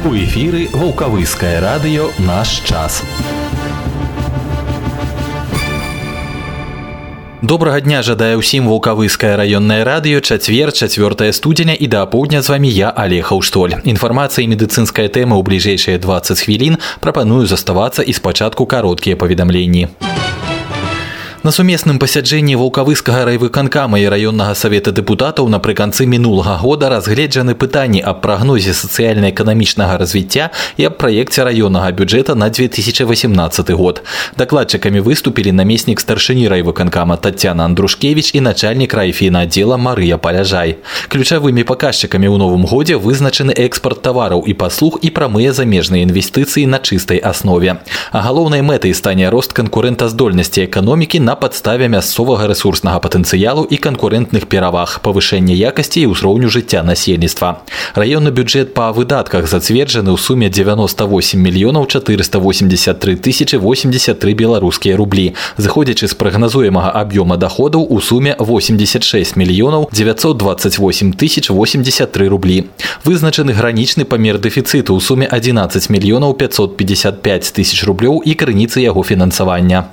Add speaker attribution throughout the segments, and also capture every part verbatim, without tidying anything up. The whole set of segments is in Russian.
Speaker 1: У эфіры Ваўкавыскае радыё «Наш час». Добрага дня жадаю ўсім Ваўкавыскае раённае радыё, чацвер, чацвёртае студзеня, і да апоўдня з вамі я, Олег Хаўштоль. Інфармацыя і медыцынская тэма ў бліжэйшыя дваццаць хвілін. Прапаную заставацца і спачатку кароткія паведамленні. На сумесным пасяджэнні Ваўкавыскага райвыканкама і раённага савета дэпутатаў напрыканцы мінулага года разгледжаны пытанні аб прагнозе сацыяльна-эканамічнага развіцця і аб праекце раённага бюджэта на две тысячи восемнадцаты год. Дакладчыкамі выступілі намеснік старшыні райвыканкама Таццяна Андрушкевіч і начальнік райфінаддзела Марыя Паляжай. Ключавымі паказчыкамі ў новым годзе вызначаны экспарт тавараў і паслуг і прамыя замежныя інвестыцыі на чыстай аснове. А галоўнай мэтай стане рост канкурэнтаздольнасці эканомікі на падставе мясцовага рэсурснага патэнцыялу і канкурэнтных пераваг, павышэння якасці і ўзроўню жыцця насельніцтва. Раённы бюджэт па выдатках зацверджаны ў суме дзевяноста восем мільёнаў чатырыста восемьдесят три тысячи восемьдесят три беларускія рублі, зыходзячы з прагназуемага аб'ёма даходаў у суме восемьдесят шесть мільёнаў девятьсот двадцать восемь тысяч восемьдесят три рублі. Вызначаны гранічны памер дэфіцыту ў суме одиннадцать мільёнаў пятьсот пятьдесят пять тысяч рублёў і крыніцы яго фінансавання.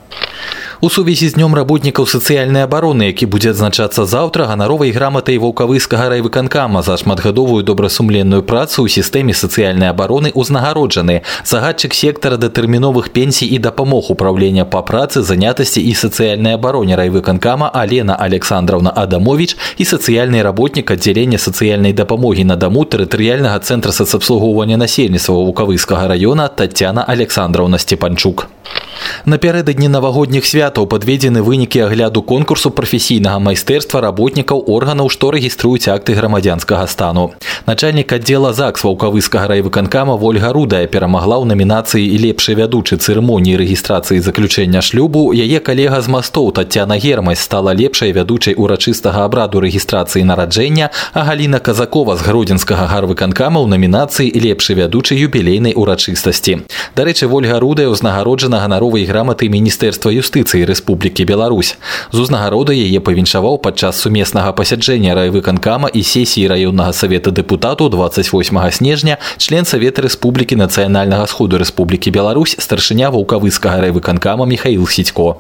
Speaker 1: У сувязі з днём работнікаў сацыяльнай абароны, які будзе адзначацца заўтра, ганаровай граматай Ваўкавыскага райвыканкама за шматгадовую добрасумленную працу ў сістэме сацыяльнай абароны ўзнагароджаны загадчык сектара датэрміновых пенсій і дапамог управлення па працы, занятасці і сацыяльнай абароне райвыканкама Алена Александровна Адамович і сацыяльны работнік аддзялення сацыяльнай дапамогі на даму тэрытарыяльнага цэнтра сацабслугоўвання насельніцтва Ваўкавыскага раёна Таццяна Александровна Степанчук. Напярэдадні навагодніх святаў падведзены вынікі агляду конкурсу прафесійнага майстэрства работнікаў органаў, што рэгіструюць акты грамадзянскага стану. Начальнік аддзела ЗАГС Ваўкавыскага райвыканкама Вольга Рудая перамагла ў намінацыі «Лепшы вядучы цырымоніі рэгістрацыі заключэння шлюбу». Яе калега з мастоў Таццяна Гермась стала лепшай вядучай урачыстага абраду рэгістрацыі нараджэння, а Галіна Казакова з гродзенскага гарвыканкама ў намінацыі «Лепшы вядучы юбілейнай урачыстасці». Дарэчы, Вольга Рудая ўзнагароджана ганаровай граматай Міністэрства юстыцыі Рэспублікі Беларусь. З узнагародай яе павіншаваў падчас сумеснага пасяджэння райвыканкама і сесіі раённага савета дэпутатаў двадцать восьмага снежня член Савета Рэспублікі Нацыянальнага сходу Рэспублікі Беларусь, старшыня Ваўкавыскага райвыканкама Михаил Сідько.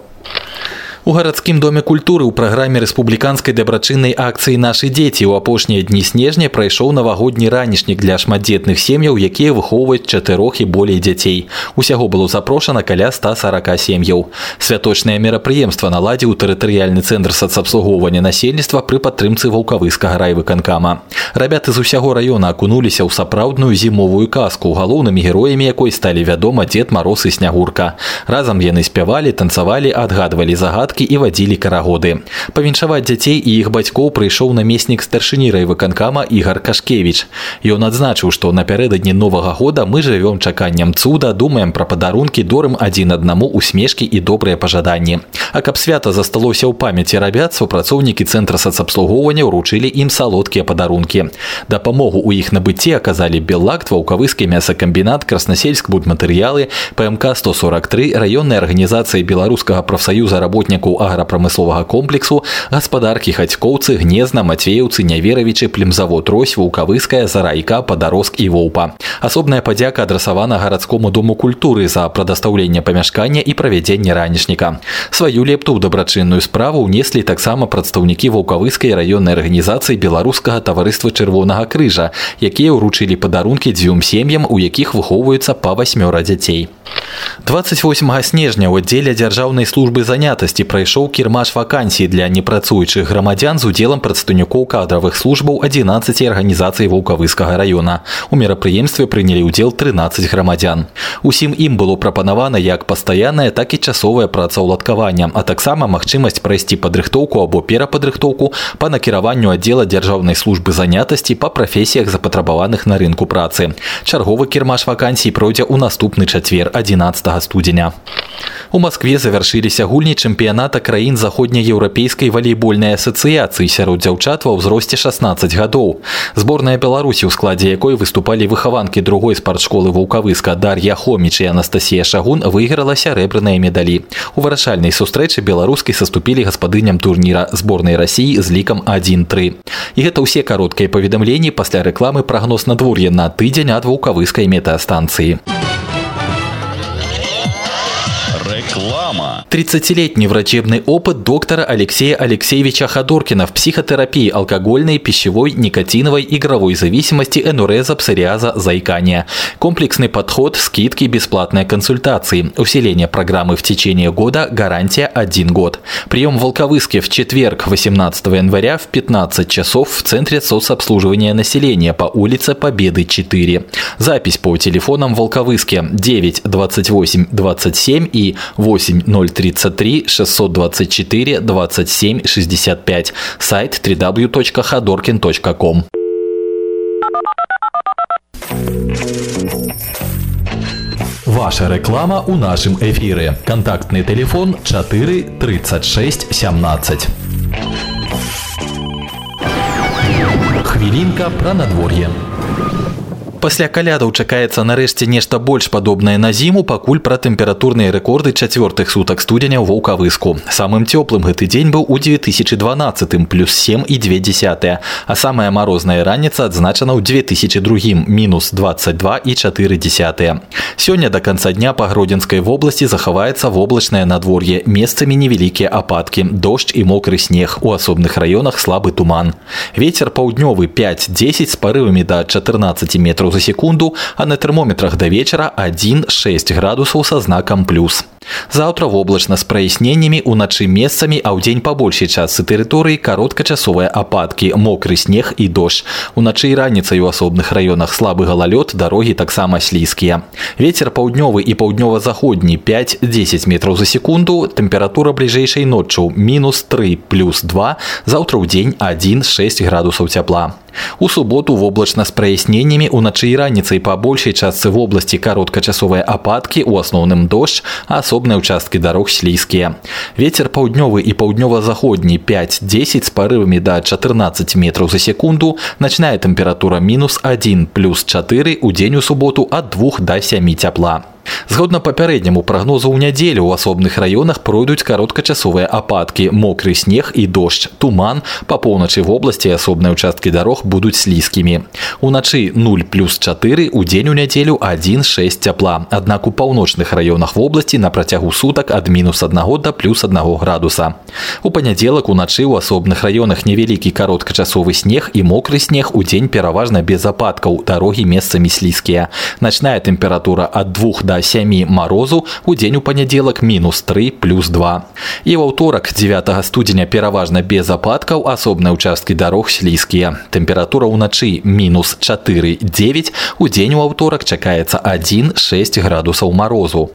Speaker 1: У гарадскім доме культуры ў праграме рэспубліканскай дабрачыннай акцыі «Нашы дзеці» ў апошнія дні снежня прайшоў навагодні ранішнік для шматдзетных сем'яў, якія выхоўваюць чатырох і болей дзяцей. Усяго было запрошана каля ста сорока сем'яў. Святочнае мерапрыемства наладзіў тэрытарыяльны цэнтр сацабслугоўвання насельніцтва пры падтрымцы Ваўкавыскага райвыканкама. Рабяты з усяго раёна акунуліся ў сапраўдную зімовую казку, галоўнымі героямі якой сталі, вядома, Дзед Мароз і Снягурка. Разам яны спявалі, танцавалі, адгадвалі загадкі і вадзілі карагоды. Павіншаваць дзяцей і іх бацькоў прыйшоў намеснік старшыні райвыканкама Ігар Кашкевіч. Ён адзначыў, што напярэдадні новага года мы жывём чаканнем цуда, думаем пра падарункі, дорым адзін аднаму усмешкі і добрыя пажаданні. А каб свята засталося ў памяці рабят, супрацоўнікі цэнтра сацабслугоўвання ўручылі ім салодкія падарункі. Дапамогу ў іх набыцці аказалі Беллакт, Ваўкавыскі мясакамбінат, Краснасельск будматэрыялы, ПМК сто сорок три, раённая арганізацыя Беларускага прафсаюза работнікаў аграпрамысловага комплексу, гаспадаркі Хацькоўцы, Гнезна, Мацвеўцы, Няверавічы, Племзавод Рось, Ваўкавыская, Зарайка, Падароск і Воўпа. Асобная падзяка адрасавана гарадскому дому культуры за прадастаўленне памяшкання і правядзенне ранішніка. Сваю лепту ў дабрачынную справу ўнеслі таксама прадстаўнікі Ваўкавыскай раённай арганізацыі Беларускага таварыства Чырвонага крыжа, якія ўручылі падарункі дзвюм сем'ям, у якіх выхоўваюцца па васьмёра дзяцей. двадцать восьмага снежня ў аддзеле дзяржаўнай службы занятасці прайшоў кірмаш вакансій для непрацуючых грамадзян з удзелам прадстаўнікоў кадравых службаў адзінаццаці арганізацый Ваўкавыскага раёна. У мерапрыемстве прынялі ўдзел трынаццаць грамадзян. Усім ім было прапанавана як пастаянная, так і часовая працаўладкавання, а таксама магчымасць прайсці падрыхтоўку або перападрыхтоўку па накіраванню аддзела дзяржаўнай службы занятасці па прафесіях запатрабаваных на рынку працы. Чарговы кірмаш вакансій пройдзе ў наступны чацвер, адзінаццатага студзеня. У Москве завяршыліся гульні чэмпіяната краін заходнееўрапейскай валейбольнай асацыяцыі сярод дзяўчат ва ўзросце шаснаццаць гадоў. Зборная Беларусі, у складзе якой выступалі выхаванкі другой спартшколы Ваўкавыска Дар'я Хоміч і Анастасія Шагун, выйграла сярэбраныя медалі. У вырашальнай сустрэчы беларускай саступілі гаспадыням турніра зборнай Расіі з лікам адзін тры. І гэта ўсе кароткія паведамленні пасля рэкламы прагноз надвор'я на тыдзень ад ваўкавыскай метэастанцыі.
Speaker 2: Реклама.
Speaker 1: тридцатилетний врачебный опыт доктора Алексея Алексеевича Ходоркина в психотерапии алкогольной, пищевой, никотиновой, игровой зависимости, энуреза, псориаза, заикания. Комплексный подход, скидки, бесплатные консультации. Усиление программы в течение года, гарантия один год. Прием в Волковыске в четверг, восемнадцатого января в пятнадцать часов в Центре соцобслуживания населения по улице Победы четыре. Запись по телефонам в Волковыске девять двадцать восемь двадцать семь и восемь ноль тридцать три шестьсот двадцать четыре двадцать семь шестьдесят пять. Сайт дабл ю дабл ю дабл ю точка ходоркин точка ком. Ваша реклама у нашем эфире. Контактный телефон чатыры тридцать шесть семнадцать. Хвилинка про надворье. Пасля калядаў чакаецца нарэшце нешта больш падобнае на зіму, пакуль пра тэмпературныя рэкорды чацвёртых сутак студзеня ў Ваўкавыску. Самым цёплым гэты дзень быў у две тысячи дванаццатым, плюс семь і две дзесятыя, а самая марозная раніца адзначана ў две тысячи другім, мінус двадцать два і чатыры дзесятыя. Сёння да канца дня па Гродзенскай вобласці захаваецца воблачнае надвор'е, месцамі невялікія ападкі, дождж і мокры снег, у асобных раёнах слабы туман. Вецер паўднёвы пять-дзесяць з парывамі да чатырнаццаці метраў за секунду, а на термометрах до вечера один-шесть градусов со знаком плюс. Завтра воблачна з праясненнямі, уначы месцамі, а ўдзень па большай частцы тэрыторыі кароткачасовыя ападкі, мокры снег і дождж. Уначы і раніцай у асобных раёнах слабы галалёд, дарогі таксама слізкія. Вецер паўднёвы і паўднёва-заходні пять-дзесяць метраў за секунду, тэмпература бліжэйшай ноччу мінус тры, плюс два, заўтра ўдзень один-шесть градусаў цяпла. У суботу воблачна з праясненнямі, уначы і раніцай па большай частцы вобласці кароткачасовыя ападкі, у асноўным дождж, а асобныя ўчасткі дарог слізкія. Вецер паўднёвы і паўднёва-заходні пять-дзесяць з парывамі да чатырнаццаці метраў за секунду, начная тэмпература мінус один, плюс чатыры, удзень у суботу ад двух да сямі цяпла. Згодна папярэдняму прагнозу ў нядзелю ў асобных раёнах пройдуць кароткачасовыя ападкі, мокры снег і дождж, туман, па поўначы вобласці асобныя ўчасткі дарог будуць слізкімі. Уначы нуль плюс чатыры, удзень у нядзелю один-шесть цяпла, аднак у паўночных раёнах вобласці на працягу сутак ад мінус аднаго да плюс аднаго градуса. У панядзелак уначы ў асобных раёнах невялікі кароткачасовы снег і мокры снег, удзень пераважна без ападкаў, дарогі месцамі слізкія. Начная тэмпература ад двух да сямі марозу, удзень у панядзелак мінус тры, плюс два. І ва ўторак дзевятага студзеня пераважна без ападкаў, асобныя ўчасткі дарог слізкія. Тэмпература ўначы мінус чатыры-дзевяць, удзень у аўторак чакаецца один-шесть градусаў марозу.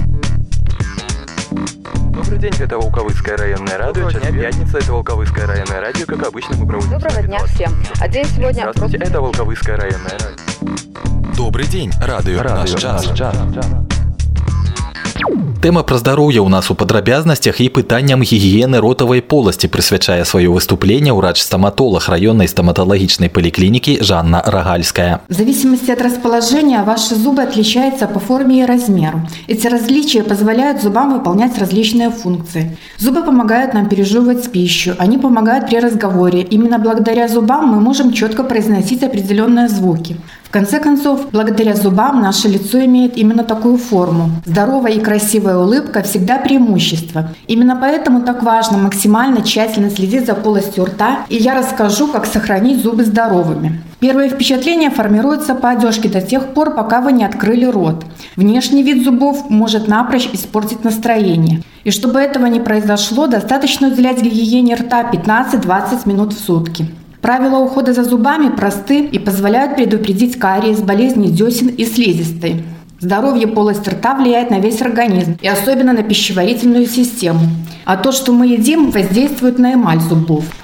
Speaker 3: Добрый день, это Волковыское районное радио. Сейчас пятница, это Волковыское районное радио. Как обычно, мы проводим...
Speaker 4: Доброго дня всем. А день сегодня...
Speaker 3: Здравствуйте, это Волковыское районное радио.
Speaker 1: Добрый день, радио, радио наш час. Наш час. Тэма пра здароўе ў нас у падрабязнасцях і пытанням гігіены ротавай поласці прысвячае сваё выступленне ўрач-стаматолог районной стоматологичной поликлиники Жанна Рогальская.
Speaker 5: В зависимости от расположения ваши зубы отличаются по форме и размеру. Эти различия позволяют зубам выполнять различные функции. Зубы помогают нам пережевывать пищу, они помогают при разговоре. Именно благодаря зубам мы можем четко произносить определенные звуки. В конце концов, благодаря зубам наше лицо имеет именно такую форму. Здоровая и красивая улыбка всегда преимущество. Именно поэтому так важно максимально тщательно следить за полостью рта, и я расскажу, как сохранить зубы здоровыми. Первое впечатление формируется по одежке до тех пор, пока вы не открыли рот. Внешний вид зубов может напрочь испортить настроение. И чтобы этого не произошло, достаточно уделять гигиене рта пятнадцать-двадцать минут в сутки. Правила ухода за зубами просты и позволяют предупредить кариес, болезни десен и слизистой. Здоровье полости рта влияет на весь организм и особенно на пищеварительную систему. А то, что мы едим, воздействует на эмаль зубов.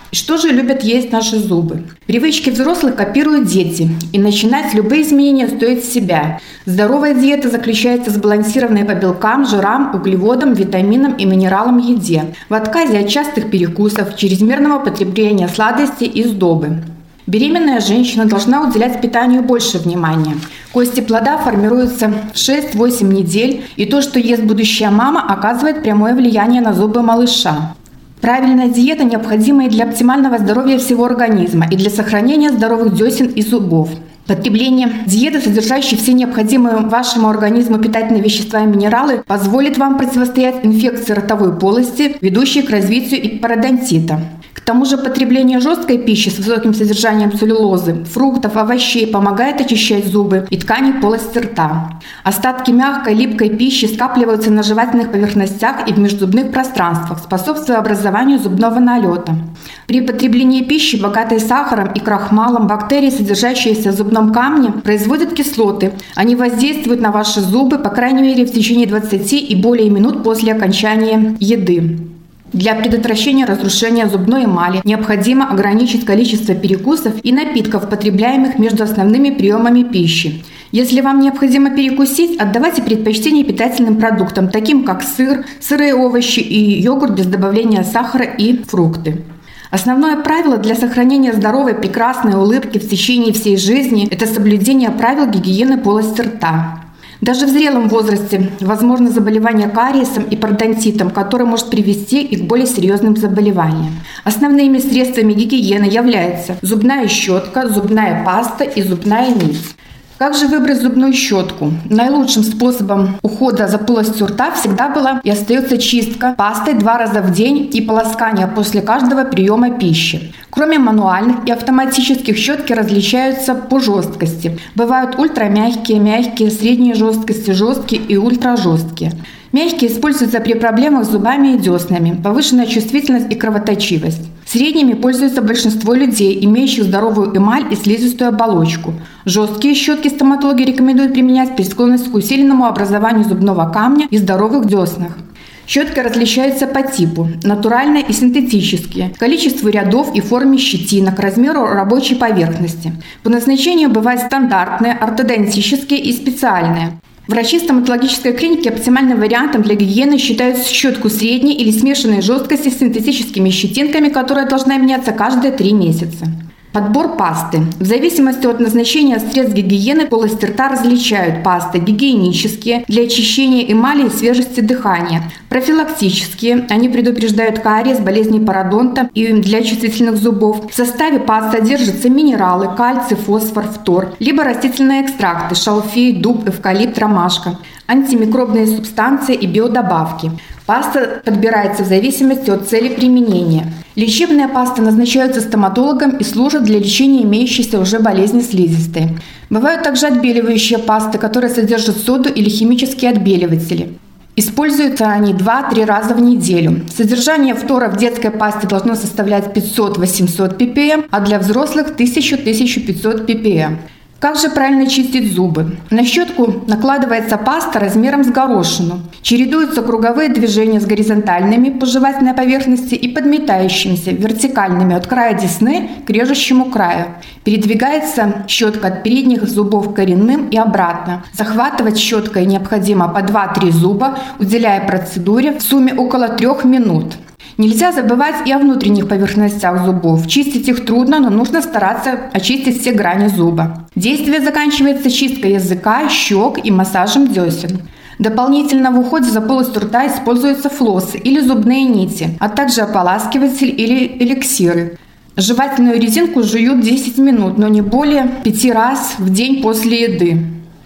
Speaker 5: Что же любят есть наши зубы? Привычки взрослых копируют дети, и начинать любые изменения стоит с себя. Здоровая диета заключается в сбалансированной по белкам, жирам, углеводам, витаминам и минералам еде, в отказе от частых перекусов, чрезмерного потребления сладостей и сдобы. Беременная женщина должна уделять питанию больше внимания. Кости плода формируются в шесть-восемь недель, и то, что ест будущая мама, оказывает прямое влияние на зубы малыша. Правильная диета необходима и для оптимального здоровья всего организма, и для сохранения здоровых десен и зубов. Потребление диеты, содержащей все необходимые вашему организму питательные вещества и минералы, позволит вам противостоять инфекции ротовой полости, ведущей к развитию и пародонтита. К тому же потребление жесткой пищи с высоким содержанием целлюлозы, фруктов, овощей помогает очищать зубы и ткани полости рта. Остатки мягкой, липкой пищи скапливаются на жевательных поверхностях и в межзубных пространствах, способствуя образованию зубного налета. При потреблении пищи, богатой сахаром и крахмалом, бактерии, содержащиеся в зубном камне, производят кислоты. Они воздействуют на ваши зубы, по крайней мере, в течение двадцати и более минут после окончания еды. Для предотвращения разрушения зубной эмали необходимо ограничить количество перекусов и напитков, потребляемых между основными приемами пищи. Если вам необходимо перекусить, отдавайте предпочтение питательным продуктам, таким как сыр, сырые овощи и йогурт без добавления сахара и фрукты. Основное правило для сохранения здоровой, прекрасной улыбки в течение всей жизни – это соблюдение правил гигиены полости рта. Даже в зрелом возрасте возможно заболевание кариесом и пародонтитом, который может привести и к более серьезным заболеваниям. Основными средствами гигиены являются зубная щетка, зубная паста и зубная нить. Как же выбрать зубную щетку? Наилучшим способом ухода за полостью рта всегда была и остается чистка пастой два раза в день и полоскание после каждого приема пищи. Кроме мануальных и автоматических, щетки различаются по жесткости. Бывают ультрамягкие, мягкие, средней жесткости, жесткие и ультражесткие. Мягкие используются при проблемах с зубами и деснами, повышенная чувствительность и кровоточивость. Средними пользуются большинство людей, имеющих здоровую эмаль и слизистую оболочку. Жесткие щетки стоматологи рекомендуют применять при склонности к усиленному образованию зубного камня и здоровых деснах. Щетки различаются по типу – натуральные и синтетические, количеству рядов и форме щетинок, размеру рабочей поверхности. По назначению бывают стандартные, ортодонтические и специальные. Врачи стоматологической клиники оптимальным вариантом для гигиены считают щетку средней или смешанной жесткости с синтетическими щетинками, которая должна меняться каждые три месяца. Подбор пасты. В зависимости от назначения средств гигиены полости рта различают пасты гигиенические для очищения эмали и свежести дыхания, профилактические, они предупреждают кариес, болезни пародонта и для чувствительных зубов. В составе паст содержатся минералы, кальций, фосфор, фтор, либо растительные экстракты, шалфей, дуб, эвкалипт, ромашка, антимикробные субстанции и биодобавки. Паста подбирается в зависимости от цели применения. Лечебные пасты назначаются стоматологом и служат для лечения имеющейся уже болезни слизистой. Бывают также отбеливающие пасты, которые содержат соду или химические отбеливатели. Используются они два-три раза в неделю. Содержание фтора в детской пасте должно составлять пятьсот-восемьсот пи пи эм, а для взрослых тысяча-тысяча пятьсот пи пи эм. Как же правильно чистить зубы? На щетку накладывается паста размером с горошину. Чередуются круговые движения с горизонтальными по жевательной поверхности и подметающимися вертикальными от края десны к режущему краю. Передвигается щетка от передних зубов к коренным и обратно. Захватывать щеткой необходимо по два-три зуба, уделяя процедуре в сумме около трех минут. Нельзя забывать и о внутренних поверхностях зубов. Чистить их трудно, но нужно стараться очистить все грани зуба. Действие заканчивается чисткой языка, щек и массажем десен. Дополнительно в уходе за полостью рта используются флоссы или зубные нити, а также ополаскиватель или эликсиры. Жевательную резинку жуют десять минут, но не более пяти раз в день после еды.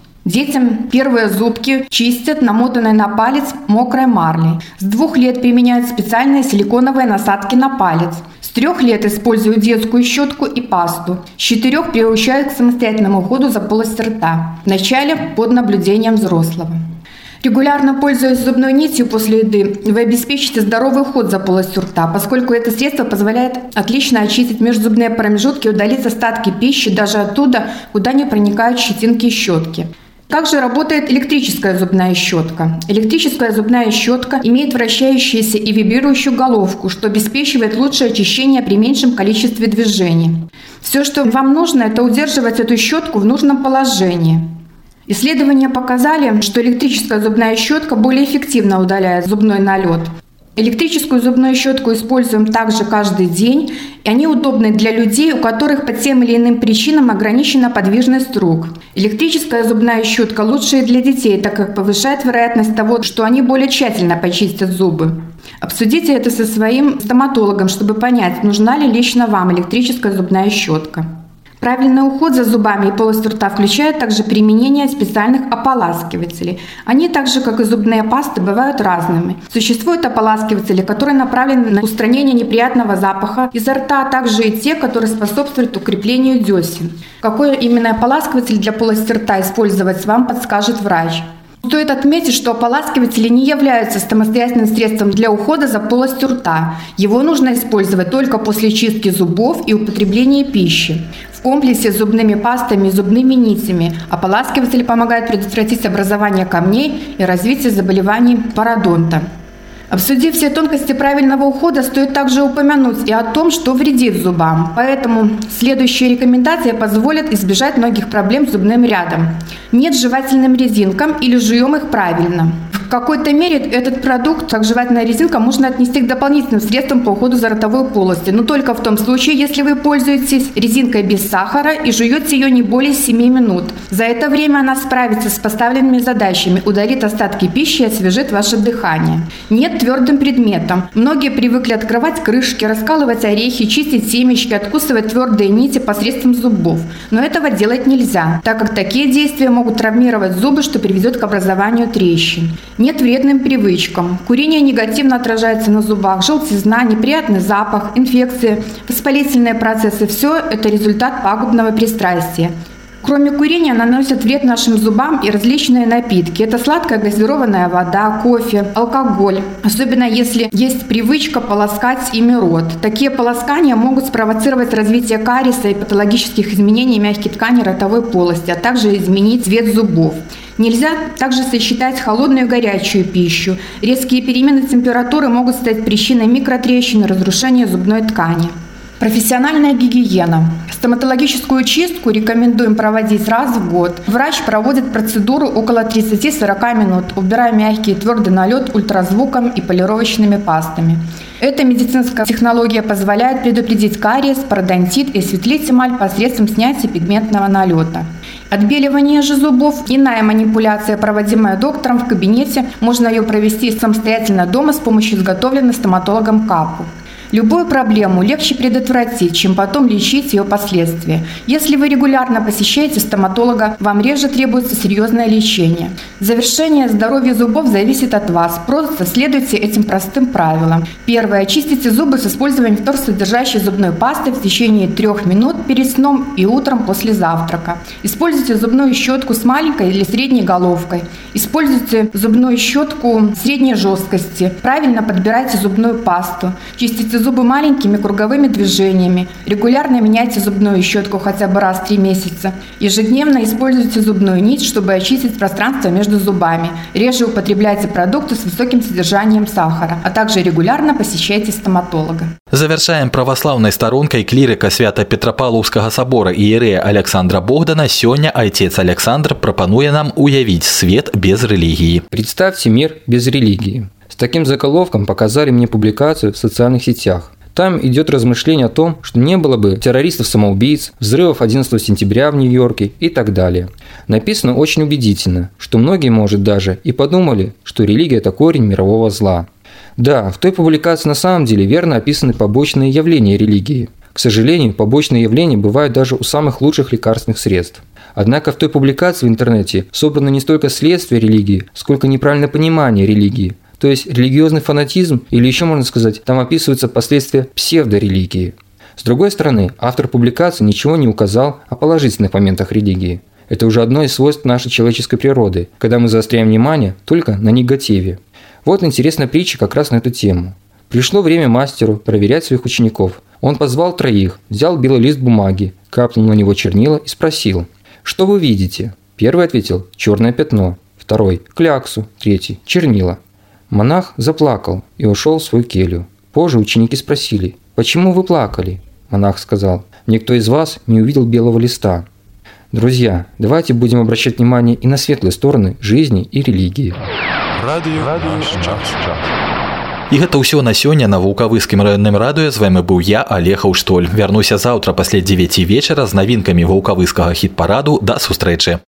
Speaker 5: Детям первые зубки чистят намотанной на палец мокрой марлей. С двух лет применяют специальные силиконовые насадки на палец. С трех лет используют детскую щетку и пасту. С четырех приучают к самостоятельному уходу за полостью рта. Вначале под наблюдением взрослого. Регулярно пользуясь зубной нитью после еды, вы обеспечите здоровый уход за полостью рта, поскольку это средство позволяет отлично очистить межзубные промежутки и удалить остатки пищи даже оттуда, куда не проникают щетинки и щетки. Как же работает электрическая зубная щетка? Электрическая зубная щетка имеет вращающуюся и вибрирующую головку, что обеспечивает лучшее очищение при меньшем количестве движений. Все, что вам нужно, это удерживать эту щетку в нужном положении. Исследования показали, что электрическая зубная щетка более эффективно удаляет зубной налет. Электрическую зубную щетку используем также каждый день, и они удобны для людей, у которых по тем или иным причинам ограничена подвижность рук. Электрическая зубная щетка лучше и для детей, так как повышает вероятность того, что они более тщательно почистят зубы. Обсудите это со своим стоматологом, чтобы понять, нужна ли лично вам электрическая зубная щетка. Правильный уход за зубами и полостью рта включает также применение специальных ополаскивателей. Они, так же как и зубные пасты, бывают разными. Существуют ополаскиватели, которые направлены на устранение неприятного запаха изо рта, а также и те, которые способствуют укреплению десен. Какой именно ополаскиватель для полости рта использовать, вам подскажет врач. Стоит отметить, что ополаскиватели не являются самостоятельным средством для ухода за полостью рта. Его нужно использовать только после чистки зубов и употребления пищи. В комплексе с зубными пастами и зубными нитями ополаскиватели помогают предотвратить образование камней и развитие заболеваний пародонта. Обсудив все тонкости правильного ухода, стоит также упомянуть и о том, что вредит зубам. Поэтому следующие рекомендации позволят избежать многих проблем с зубным рядом. Нет жевательным резинкам или жуем их правильно. В какой-то мере этот продукт, как жевательная резинка, можно отнести к дополнительным средствам по уходу за ротовой полостью, но только в том случае, если вы пользуетесь резинкой без сахара и жуете ее не более семи минут. За это время она справится с поставленными задачами, удалит остатки пищи и освежит ваше дыхание. Нет твердым предметом. Многие привыкли открывать крышки, раскалывать орехи, чистить семечки, откусывать твердые нити посредством зубов. Но этого делать нельзя, так как такие действия могут травмировать зубы, что приведет к образованию трещин. Нет вредным привычкам. Курение негативно отражается на зубах, желтизна, неприятный запах, инфекции, воспалительные процессы – все это результат пагубного пристрастия. Кроме курения наносят вред нашим зубам и различные напитки. Это сладкая газированная вода, кофе, алкоголь. Особенно если есть привычка полоскать ими рот. Такие полоскания могут спровоцировать развитие кариеса и патологических изменений мягкой ткани ротовой полости, а также изменить цвет зубов. Нельзя также сочетать холодную и горячую пищу. Резкие перемены температуры могут стать причиной микротрещин и разрушения зубной ткани. Профессиональная гигиена. Стоматологическую чистку рекомендуем проводить раз в год. Врач проводит процедуру около тридцати-сорока минут, убирая мягкий и твердый налет ультразвуком и полировочными пастами. Эта медицинская технология позволяет предупредить кариес, пародонтит и осветлить эмаль посредством снятия пигментного налета. Отбеливание же зубов – иная манипуляция, проводимая доктором в кабинете. Можно ее провести самостоятельно дома с помощью изготовленной стоматологом капу. Любую проблему легче предотвратить, чем потом лечить ее последствия. Если вы регулярно посещаете стоматолога, вам реже требуется серьезное лечение. Завершение здоровья зубов зависит от вас. Просто следуйте этим простым правилам. Первое. Чистите зубы с использованием фторсодержащей зубной пасты в течение трех минут перед сном и утром после завтрака. Используйте зубную щетку с маленькой или средней головкой. Используйте зубную щетку средней жесткости. Правильно подбирайте зубную пасту. Чистите зубы маленькими круговыми движениями. Регулярно меняйте зубную щетку хотя бы раз в три месяца. Ежедневно используйте зубную нить, чтобы очистить пространство между зубами. Реже употребляйте продукты с высоким содержанием сахара, а также регулярно посещайте стоматолога.
Speaker 1: Завершаем православной сторонкой клірыка Свято-Петропавлаўскага собора іерэя Александра Богдана. Сёння отец Александр пропонуе нам уявить свет без религии.
Speaker 2: Представьте мир без религии. С таким заголовком показали мне публикацию в социальных сетях. Там идет размышление о том, что не было бы террористов-самоубийц, взрывов одиннадцатого сентября в Нью-Йорке и так далее. Написано очень убедительно, что многие, может, даже и подумали, что религия – это корень мирового зла. Да, в той публикации на самом деле верно описаны побочные явления религии. К сожалению, побочные явления бывают даже у самых лучших лекарственных средств. Однако в той публикации в интернете собрано не столько следствие религии, сколько неправильное понимание религии. То есть религиозный фанатизм, или еще можно сказать, там описываются последствия псевдорелигии. С другой стороны, автор публикации ничего не указал о положительных моментах религии. Это уже одно из свойств нашей человеческой природы, когда мы заостряем внимание только на негативе. Вот интересная притча как раз на эту тему. Пришло время мастеру проверять своих учеников. Он позвал троих, взял белый лист бумаги, капнул на него чернила и спросил: «Что вы видите?» Первый ответил «черное пятно», второй «кляксу», третий «чернила». Монах заплакал и ушел в свою келью. Позже ученики спросили «почему вы плакали?» Монах сказал «никто из вас не увидел белого листа». Друзья, давайте будем обращать внимание и на светлые стороны жизни и религии.
Speaker 3: Радио, радио, час, час.
Speaker 1: І гэта ўсё на сёння на вулкавыскім раённым радыё. З вами быў я, Олег Хаўштоль. Вярнуся заўтра пасля дзевяці вечара з навінкамі вулкавыскага хіт-параду. Да сустрэчы.